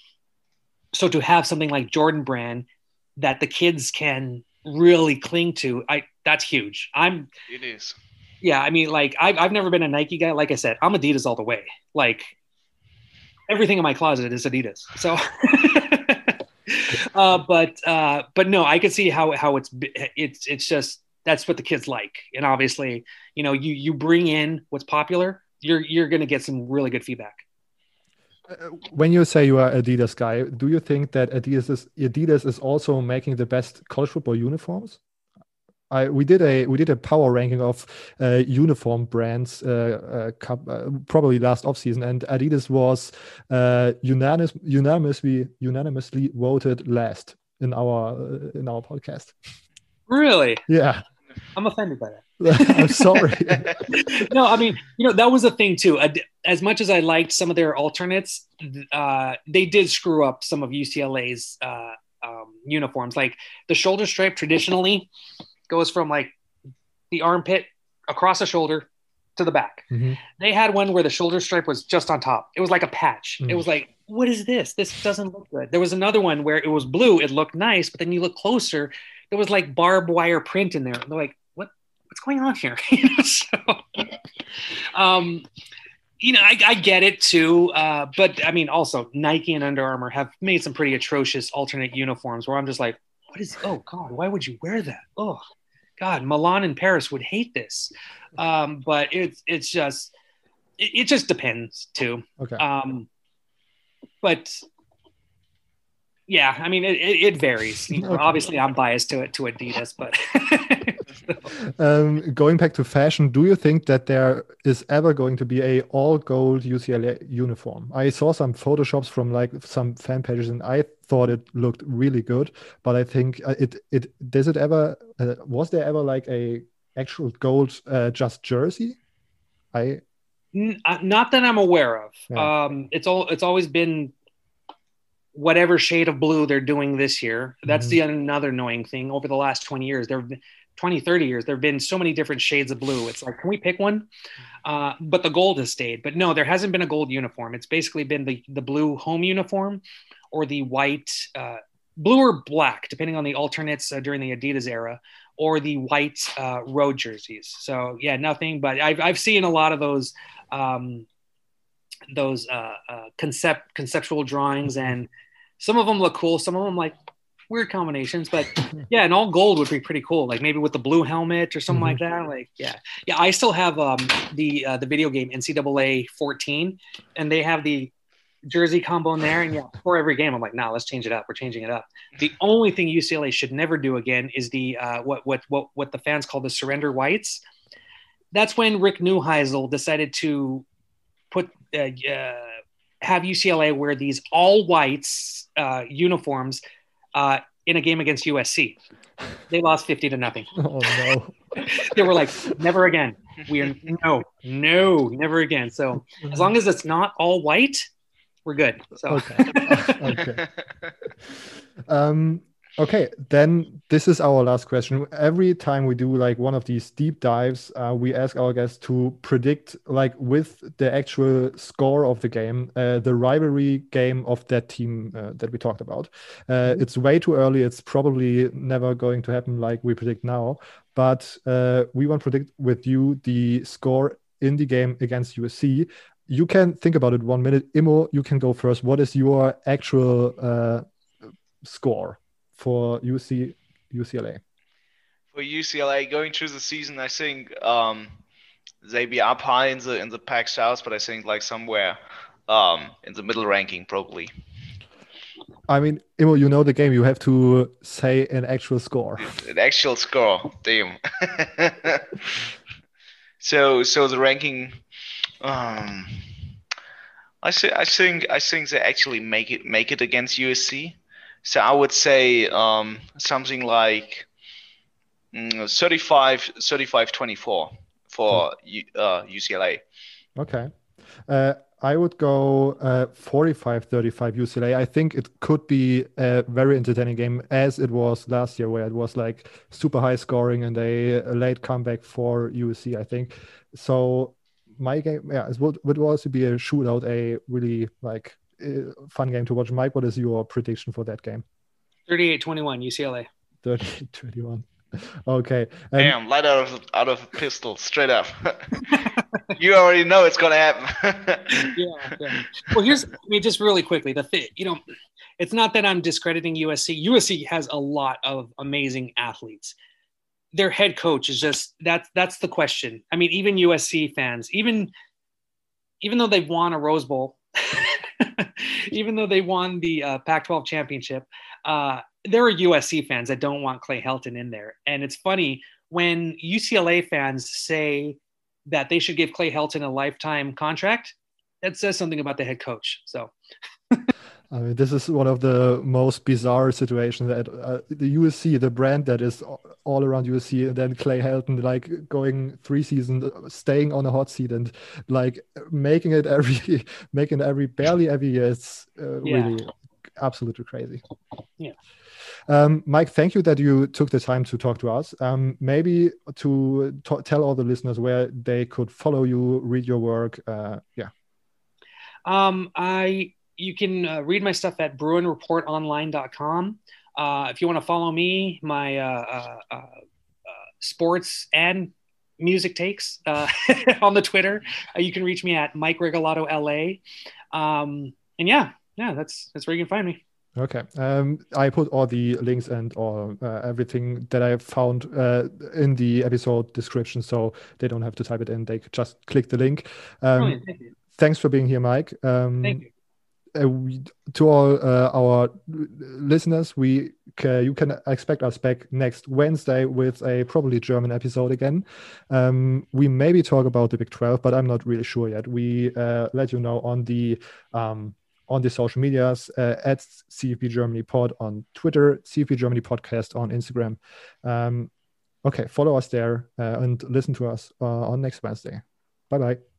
So to have something like Jordan Brand that the kids can really cling to, I that's huge. I'm it is. Yeah, I mean, like I've I've never been a Nike guy. Like I said, I'm Adidas all the way. Like everything in my closet is Adidas. So, uh, but uh, but no, I can see how how it's it's it's just that's what the kids like, and obviously, you know, you you bring in what's popular, you're you're gonna get some really good feedback. When you say you are Adidas guy, do you think that Adidas is, Adidas is also making the best college football uniforms? I we did a we did a power ranking of uh, uniform brands uh, uh, uh, probably last offseason, and Adidas was uh, unanimous, unanimously unanimously voted last in our uh, in our podcast. Really? Yeah. I'm offended by that. I'm sorry. No, I mean, you know, that was a thing too. As much as I liked some of their alternates, uh, they did screw up some of U C L A's uh, um, uniforms. Like the shoulder stripe traditionally goes from like the armpit across the shoulder to the back. Mm-hmm. They had one where the shoulder stripe was just on top. It was like a patch. Mm. It was like, what is this? This doesn't look good. There was another one where it was blue. It looked nice, but then you look closer, there was like barbed wire print in there. And they're like, what, what's going on here? so, um, You know, I, I get it too, uh, but I mean, also Nike and Under Armour have made some pretty atrocious alternate uniforms where I'm just like, what is? Oh God, why would you wear that? Oh God, Milan and Paris would hate this. Um, but it's it's just it, it just depends too. Okay. Um, but yeah, I mean, it, it, it varies. You know, Okay. Obviously, I'm biased to it to Adidas, but. um, going back to fashion, do you think that there is ever going to be a all gold U C L A uniform? I saw some photoshops from like some fan pages, and I thought it looked really good. But I think uh, it it does it ever uh, was there ever like a actual gold uh, just jersey? I N- uh, Not that I'm aware of. Yeah. Um, it's all it's always been whatever shade of blue they're doing this year. That's Mhm. the another annoying thing. Over the last twenty years, there have been twenty, thirty years, there have been so many different shades of blue. It's like, can we pick one? Uh, but the gold has stayed. But no, there hasn't been a gold uniform. It's basically been the, the blue home uniform or the white, uh, blue or black, depending on the alternates uh, during the Adidas era, or the white uh, road jerseys. So yeah, nothing, but I've, I've seen a lot of those, um, those uh, uh, concept conceptual drawings, and some of them look cool. Some of them like weird combinations, but yeah, and all gold would be pretty cool. Like maybe with the blue helmet or something Mhm. like that. Like, yeah, yeah. I still have um, the uh, the video game N C double A fourteen, and they have the jersey combo in there. And yeah, before every game, I'm like, nah, let's change it up. We're changing it up. The only thing U C L A should never do again is the uh, what what what what the fans call the surrender whites. That's when Rick Neuheisel decided to put uh, uh, have U C L A wear these all whites uh, uniforms uh, in a game against U S C. They lost fifty to nothing. Oh no. They were like, never again. We are no, no, never again. So as long as it's not all white, we're good. So Okay. Okay. Um, okay, then this is our last question. Every time we do like one of these deep dives, uh, we ask our guests to predict, like with the actual score of the game, uh, the rivalry game of that team uh, that we talked about. Uh, it's way too early. It's probably never going to happen like we predict now. But uh, we want to predict with you the score in the game against U S C. You can think about it one minute. Imo, you can go first. What is your actual uh, score for U C U C L A? For U C L A going through the season, I think um, they be up high in the in the Pac South, but I think like somewhere um, in the middle ranking probably. I mean, Imo, you know the game. You have to say an actual score. An actual score, damn. so so the ranking. Um, I say I think I think they actually make it make it against U S C. So I would say um, something like mm, thirty-five, thirty-five twenty-four for U, uh, U C L A. Okay. Uh, I would go uh, forty-five thirty-five U C L A. I think it could be a very entertaining game as it was last year, where it was like super high scoring and a, a late comeback for U S C, I think. So my game, yeah, it would, would also be a shootout, a really like uh, fun game to watch. Mike, what is your prediction for that game? thirty-eight twenty-one U C L A. thirty-eight twenty-one. Okay. Um, Damn, light out of out of a pistol, straight up. You already know it's gonna happen. yeah, yeah. Well, here's I mean, just really quickly, the thing, you know, it's not that I'm discrediting U S C. U S C has a lot of amazing athletes. Their head coach is just that's that's the question. I mean, even U S C fans, even even though they've won a Rose Bowl, even though they won the uh, Pac twelve championship, uh, there are U S C fans that don't want Clay Helton in there. And it's funny when U C L A fans say that they should give Clay Helton a lifetime contract. That says something about the head coach. So. I mean, this is one of the most bizarre situations that uh, the U S C, the brand that is all around U S C, and then Clay Helton, like going three seasons, staying on a hot seat and like making it every, making it every barely every year. It's uh, Yeah. really absolutely crazy. Yeah. Um, Mike, thank you that you took the time to talk to us. Um, maybe to t- tell all the listeners where they could follow you, read your work. Uh, yeah. Um, I. You can uh, read my stuff at bruin report online dot com. Uh, if you want to follow me, my uh, uh, uh, sports and music takes uh, on the Twitter. Uh, you can reach me at Mike Regalado L A. Um, and yeah, yeah, that's that's where you can find me. Okay. Um, I put all the links and all uh, everything that I found uh, in the episode description, so they don't have to type it in. They could just click the link. Um, Thank you. Thanks for being here, Mike. Um, Thank you. Uh, we, to all uh, our listeners, we ca- you can expect us back next Wednesday with a probably German episode again. Um, we maybe talk about the Big twelve, but I'm not really sure yet. We uh, let you know on the um, on the social medias uh, at C F B Germany Pod on Twitter, C F B Germany Podcast on Instagram. Um, okay, follow us there uh, and listen to us uh, on next Wednesday. Bye bye.